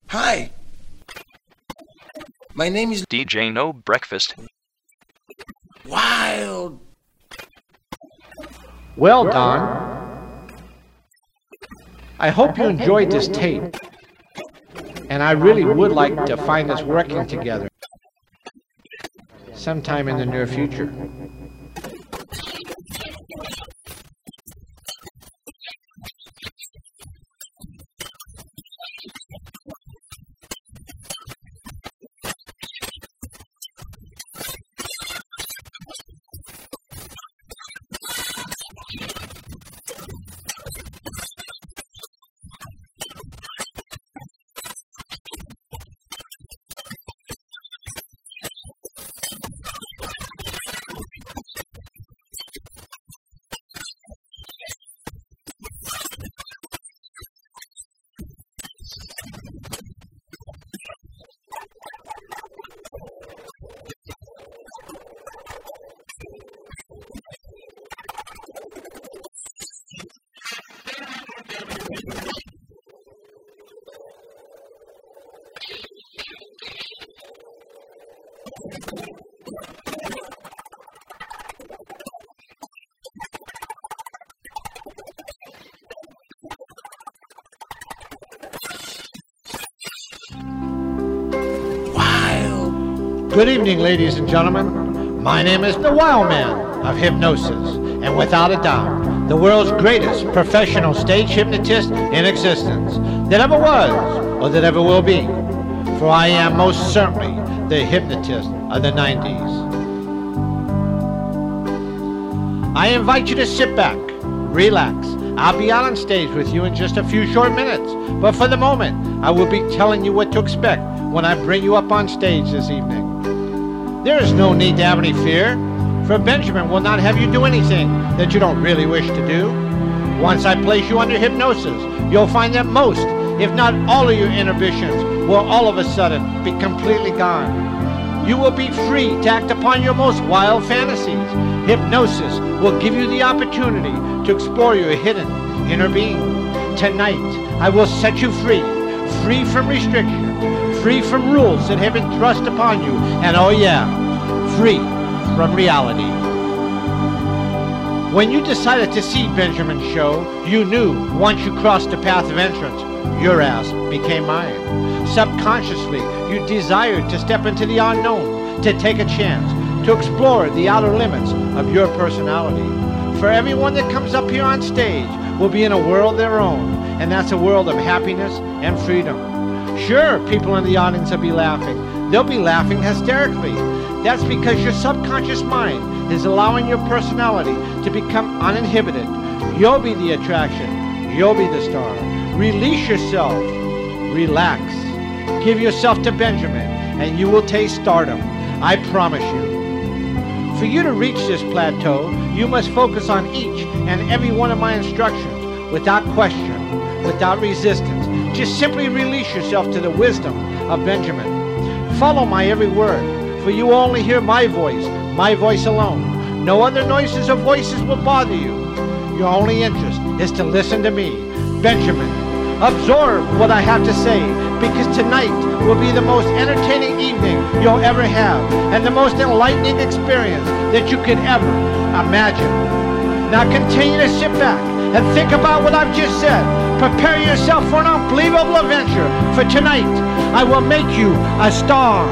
Hi. My name is DJ No Breakfast. Wild. Well, Don, I hope you enjoyed this tape, and I really would like to find us working together sometime in the near future. Good evening, ladies and gentlemen. My name is the Wild Man of Hypnosis, and without a doubt, the world's greatest professional stage hypnotist in existence that ever was or that ever will be. For I am most certainly the hypnotist of the 90s. I invite you to sit back, relax. I'll be out on stage with you in just a few short minutes, but for the moment, I will be telling you what to expect when I bring you up on stage this evening. There is no need to have any fear, for Benjamin will not have you do anything that you don't really wish to do. Once I place you under hypnosis, you'll find that most, if not all of your inhibitions will all of a sudden be completely gone. You will be free to act upon your most wild fantasies. Hypnosis will give you the opportunity to explore your hidden inner being. Tonight, I will set you free, free from restriction, free from rules that have been thrust upon you, and oh yeah, free from reality. When you decided to see Benjamin's show, you knew once you crossed the path of entrance, your ass became mine. Subconsciously, you desired to step into the unknown, to take a chance, to explore the outer limits of your personality. For everyone that comes up here on stage will be in a world of their own, and that's a world of happiness and freedom. Sure, people in the audience will be laughing. They'll be laughing hysterically. That's because your subconscious mind is allowing your personality to become uninhibited. You'll be the attraction. You'll be the star. Release yourself. Relax. Give yourself to Benjamin, and you will taste stardom. I promise you. For you to reach this plateau, you must focus on each and every one of my instructions without question, without resistance. Just simply release yourself to the wisdom of Benjamin. Follow my every word, for you will only hear my voice alone. No other noises or voices will bother you. Your only interest is to listen to me, Benjamin. Absorb what I have to say, because tonight will be the most entertaining evening you'll ever have, and the most enlightening experience that you could ever imagine. Now continue to sit back and think about what I've just said. Prepare yourself for an unbelievable adventure, for tonight I will make you a star.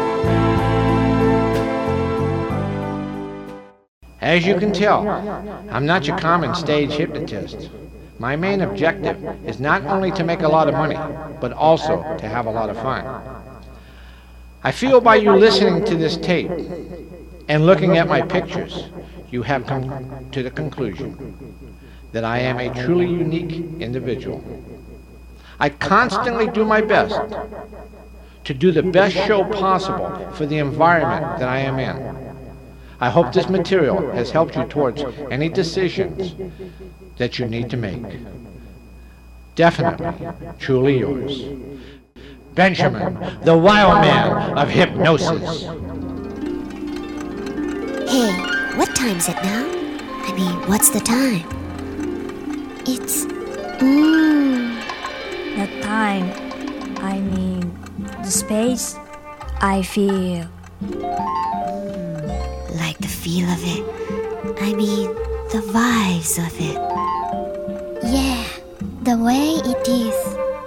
As you can tell, I'm not your common stage hypnotist. My main objective is not only to make a lot of money, but also to have a lot of fun. I feel by you listening to this tape and looking at my pictures, you have come to the conclusion that I am a truly unique individual. I constantly do my best to do the best show possible for the environment that I am in. I hope this material has helped you towards any decisions that you need to make. Definitely, truly yours, Benjamin, the Wild Man of Hypnosis. Hey, what time's it now? I mean, what's the time? It's... The time I mean, the space, I feel. Like the feel of it. I mean, the vibes of it. Yeah, the way it is.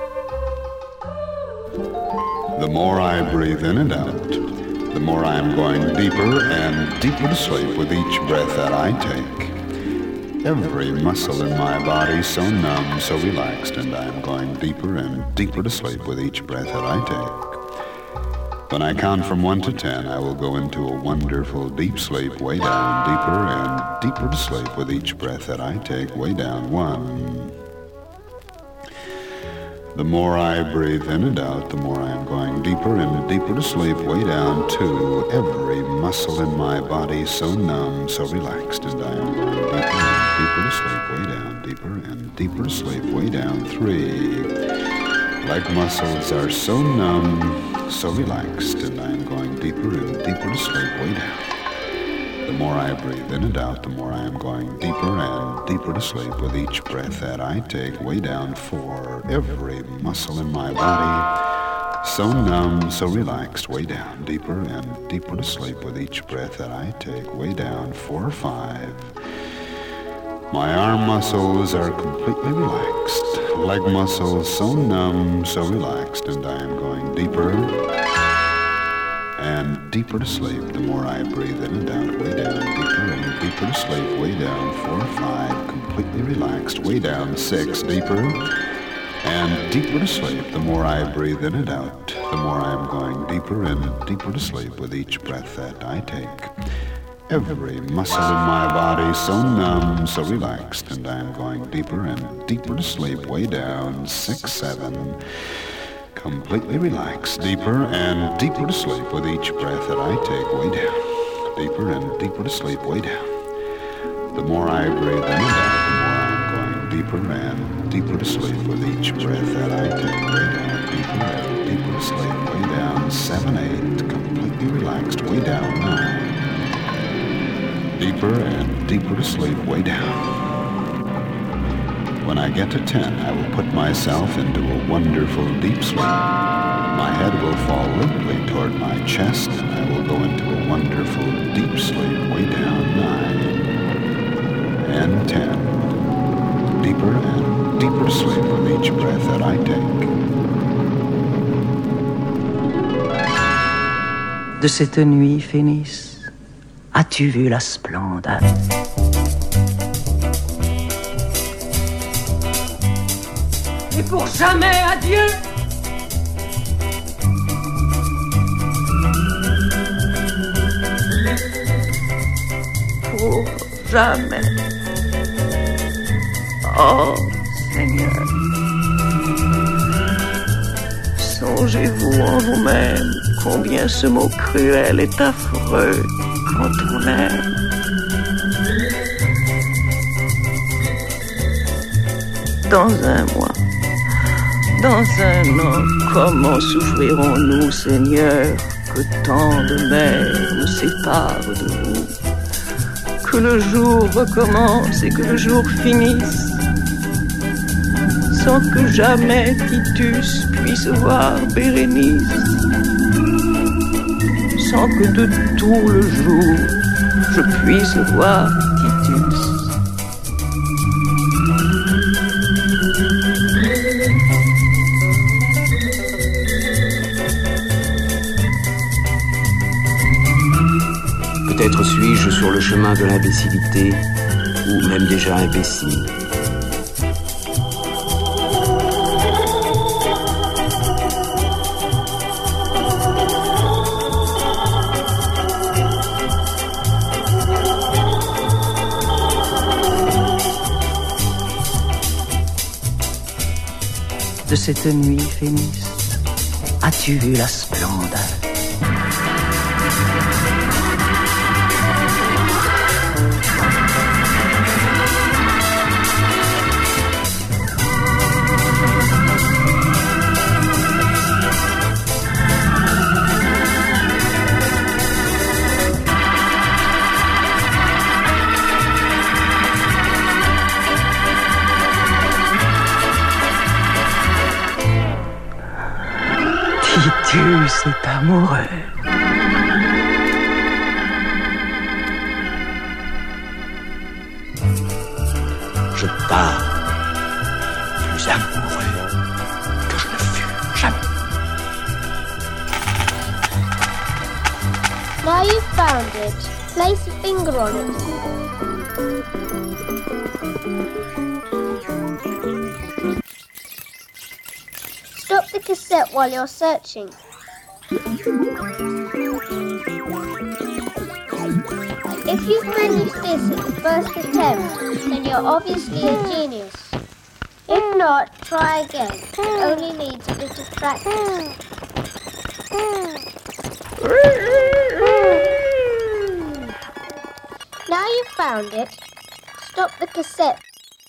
The more I breathe in and out, the more I am going deeper and deeper to sleep with each breath that I take. Every muscle in my body so numb, so relaxed, and I am going deeper and deeper to sleep with each breath that I take. When I count from 1 to 10, I will go into a wonderful deep sleep, way down, deeper and deeper to sleep with each breath that I take, way down. 1. The more I breathe in and out, the more I am going deeper and deeper to sleep, way down. 2. Every muscle in my body so numb, so relaxed, and I am going deeper and deeper to sleep, way down, deeper and deeper to sleep, way down. 3. Leg muscles are so numb, so relaxed, and I am going deeper and deeper to sleep, way down. The more I breathe in and out, the more I am going deeper and deeper to sleep with each breath that I take, way down. 4. Every muscle in my body so numb, so relaxed, way down, deeper and deeper to sleep with each breath that I take, way down. 4 or 5. My arm muscles are completely relaxed, leg muscles so numb, so relaxed, and I am going deeper and deeper to sleep. The more I breathe in and out, way down, deeper and deeper to sleep, way down. 4 or 5, completely relaxed, way down. 6, deeper and deeper to sleep. The more I breathe in and out, the more I am going deeper and deeper to sleep with each breath that I take. Every muscle in my body so numb, so relaxed, and I am going deeper and deeper to sleep, way down. 6, 7, completely relaxed, deeper and deeper to sleep with each breath that I take, way down, deeper and deeper to sleep, way down. The more I breathe in and out, the more I am going deeper and deeper to sleep with each breath that I take, way down, deeper and deeper to sleep, way down. 7, 8, completely relaxed, way down. 9, deeper and deeper to sleep, way down. When I get to 10, I will put myself into a wonderful deep sleep. My head will fall limply toward my chest, and I will go into a wonderful deep sleep, way down. 9 and 10, deeper and deeper to sleep with each breath that I take. De cette nuit, Phénis, as-tu vu la splendeur? Et pour jamais adieu. Pour jamais. Oh, Seigneur. Songez-vous en vous-même combien ce mot cruel est affreux quand on aime. Dans un mois, dans un an, comment souffrirons-nous, Seigneur, que tant de mers nous séparent de vous? Que le jour recommence et que le jour finisse, sans que jamais Titus puisse voir Bérénice, sans que de tout le jour je puisse voir Titus. Peut-être suis-je sur le chemin de l'imbécilité, ou même déjà imbécile. De cette nuit, Phénis, as-tu vu la splendeur? qui tue cet amoureux. Je pars plus amoureux que je ne fus jamais. Now you've found it, place a finger on it. Stop the cassette while you're searching. If you've managed this at the first attempt, then you're obviously a genius. If not, try again. It only needs a bit of practice. Now you've found it, stop the cassette.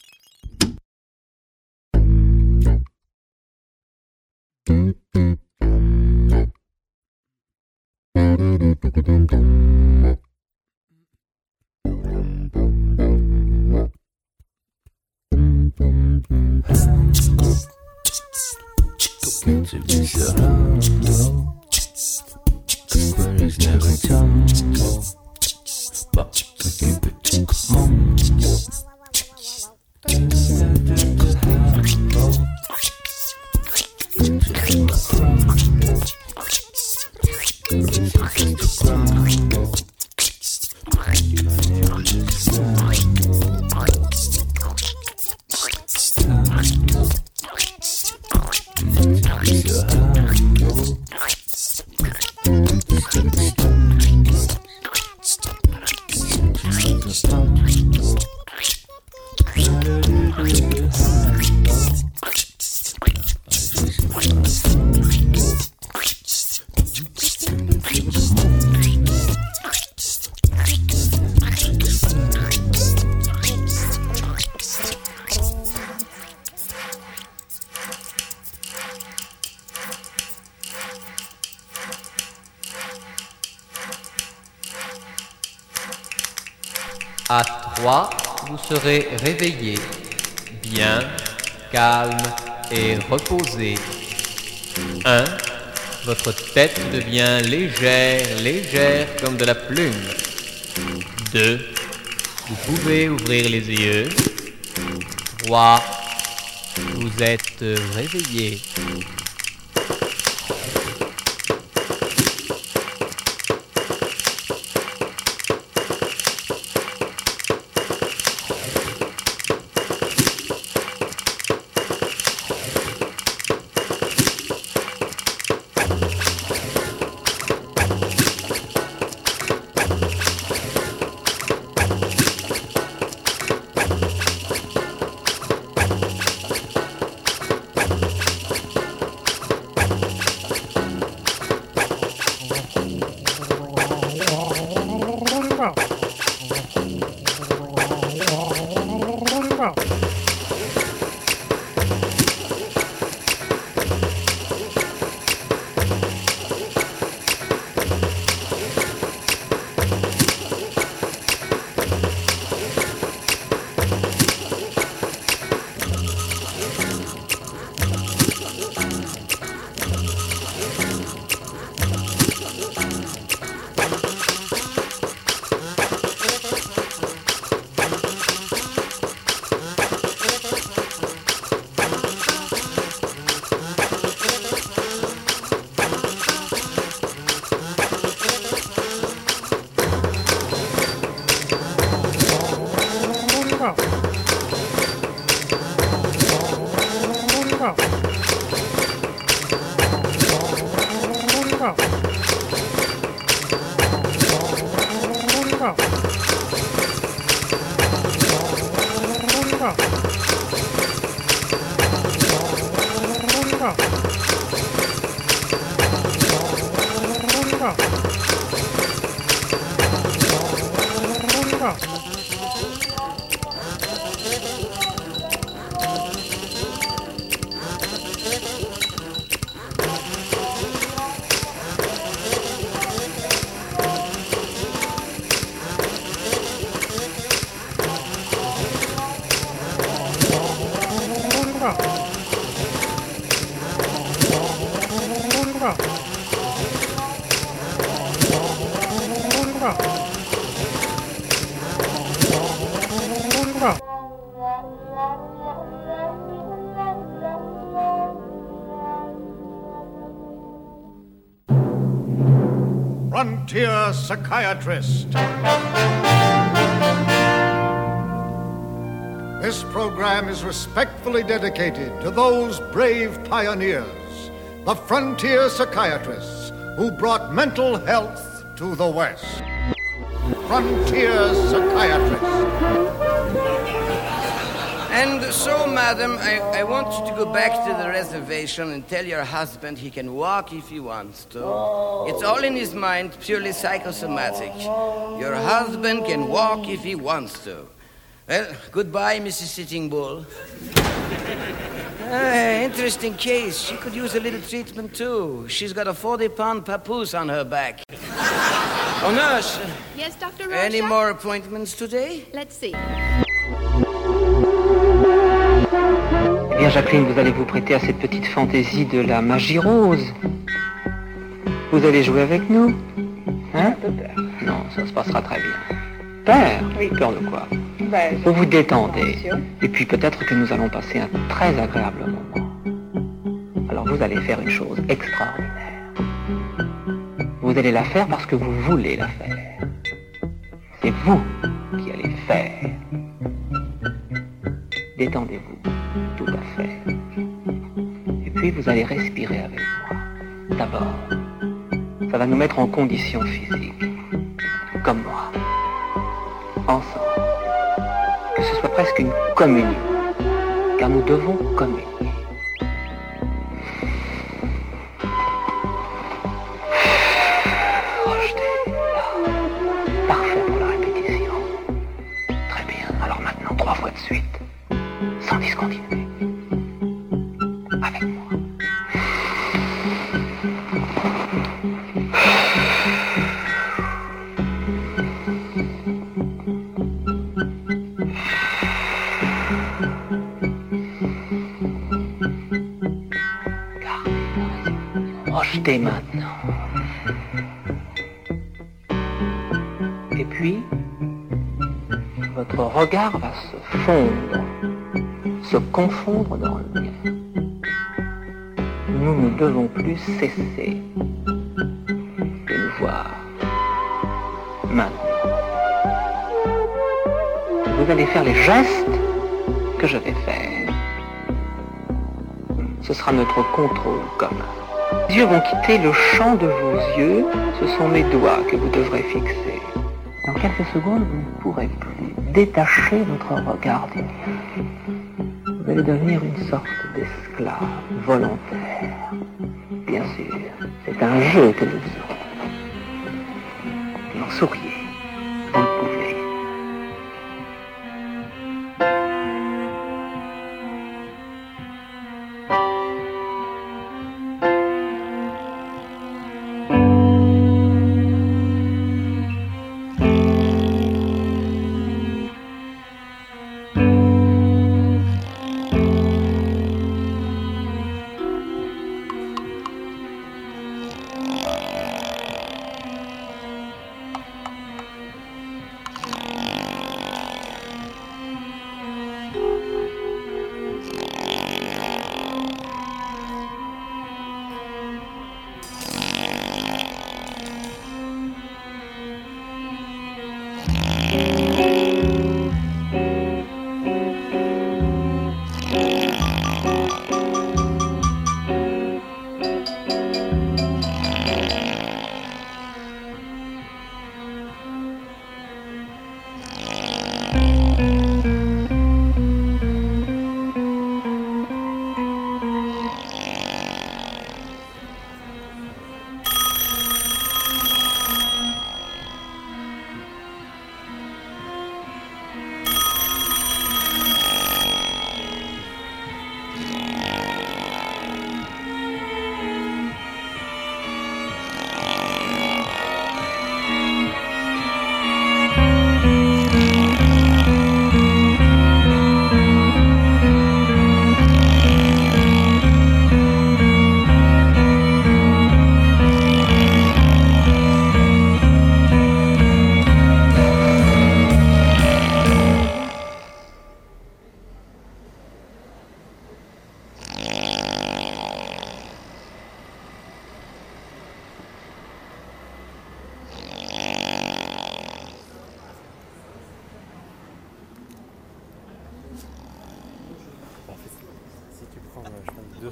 À 3, vous serez réveillé, bien, calme et reposé. 1, votre tête devient légère, légère comme de la plume. 2, vous pouvez ouvrir les yeux. 3, vous êtes réveillé. Frontier Psychiatrist. This program is respectfully dedicated to those brave pioneers, the frontier psychiatrists who brought mental health to the West. Frontier Psychiatrist. And so, madam, I want you to go back to the reservation and tell your husband he can walk if he wants to. It's all in his mind, purely psychosomatic. Your husband can walk if he wants to. Well, goodbye, Mrs. Sitting Bull. Interesting case. She could use a little treatment, too. She's got a 40-pound papoose on her back. Oh, nurse. Yes, Dr. Rocha? Any more appointments today? Let's see. Eh bien, Jacqueline, vous allez vous prêter à cette petite fantaisie de la magie rose. Vous allez jouer avec nous? Hein? Un peu peur. Non, ça se passera très bien. Peur? Oui. Peur de quoi? Ben, vous vous détendez. Attention. Et puis peut-être que nous allons passer un très agréable moment. Alors vous allez faire une chose extraordinaire. Vous allez la faire parce que vous voulez la faire. C'est vous qui allez faire. Détendez-vous, tout à fait. Et puis vous allez respirer avec moi. D'abord, ça va nous mettre en condition physique. Comme moi. Ensemble. Que ce soit presque une communion. Car nous devons communier. Rejetez, là. Parfait pour la répétition. Très bien. Alors maintenant, 3 fois de suite. Sans discontinuer. Avec moi. Rejetez maintenant. Et puis, votre regard va se fondre, se confondre dans le mien. Nous ne devons plus cesser de nous voir. Maintenant. Vous allez faire les gestes que je vais faire. Ce sera notre contrôle commun. Les yeux vont quitter le champ de vos yeux, ce sont mes doigts que vous devrez fixer. Dans quelques secondes, vous ne pourrez plus détacher votre regard du mien. Vous allez devenir une sorte d'esclave volontaire. Bien sûr, c'est un jeu que nous faisons. Alors souriez, vous le pouvez.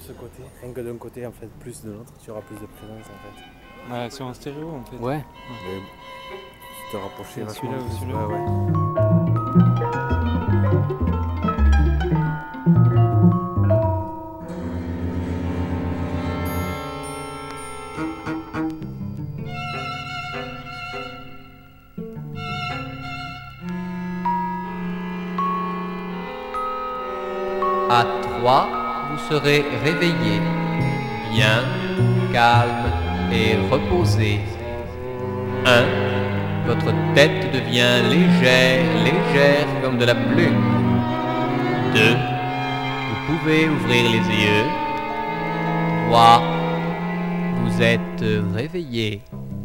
ce côté, rien que d'un côté en fait, plus de l'autre, tu auras plus de présence en fait. Ouais, sur un stéréo en fait. Ouais. Mais tu te rapprocher vachement celui-là ou plus. celui-là. Ouais. À 3, vous serez réveillé, bien, calme et reposé. 1. Votre tête devient légère comme de la plume. 2. Vous pouvez ouvrir les yeux. 3. Vous êtes réveillé.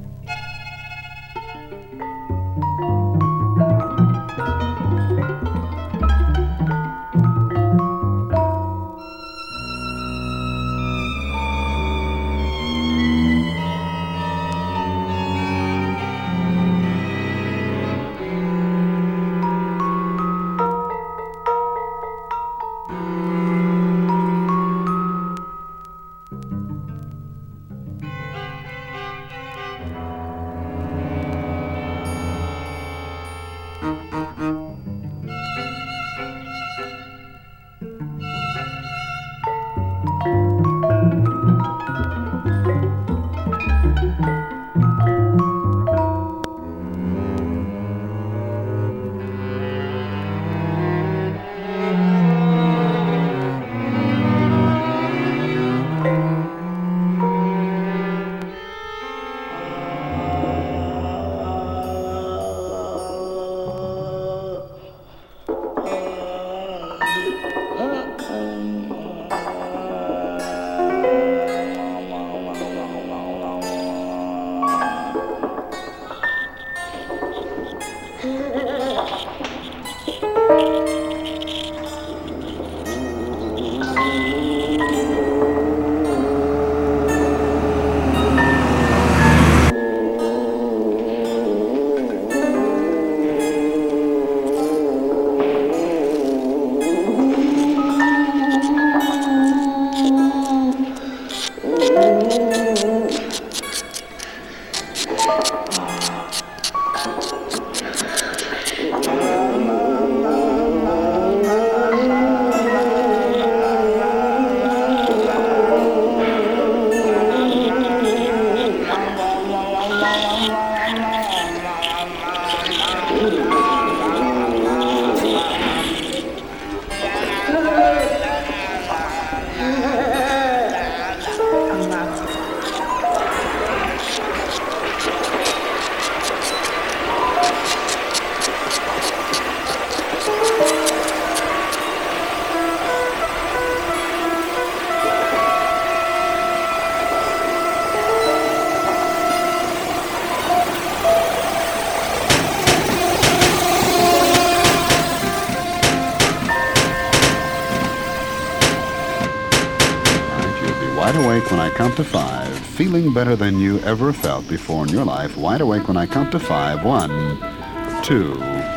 Wide awake when I count to 5, feeling better than you ever felt before in your life. Wide awake when I count to 5. 1, 2, 3.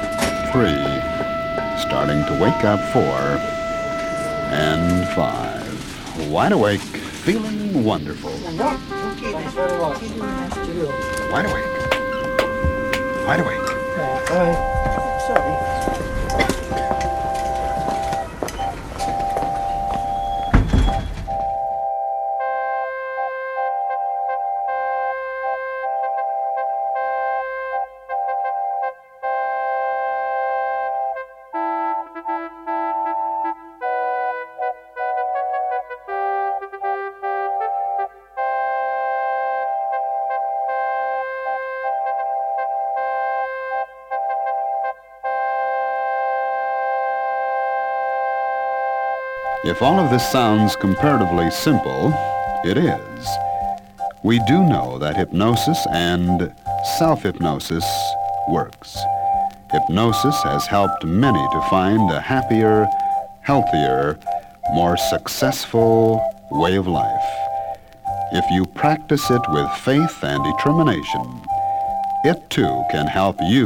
Starting to wake up. 4 and 5. Wide awake, feeling wonderful. Wide awake. Wide awake. If all of this sounds comparatively simple, it is. We do know that hypnosis and self-hypnosis works. Hypnosis has helped many to find a happier, healthier, more successful way of life. If you practice it with faith and determination, it too can help you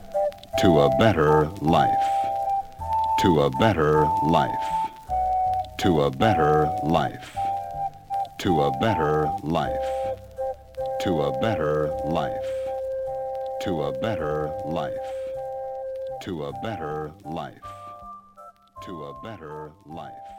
to a better life. To a better life. to a better life, to a better life, to a better life, to a better life, to a better life, to a better life.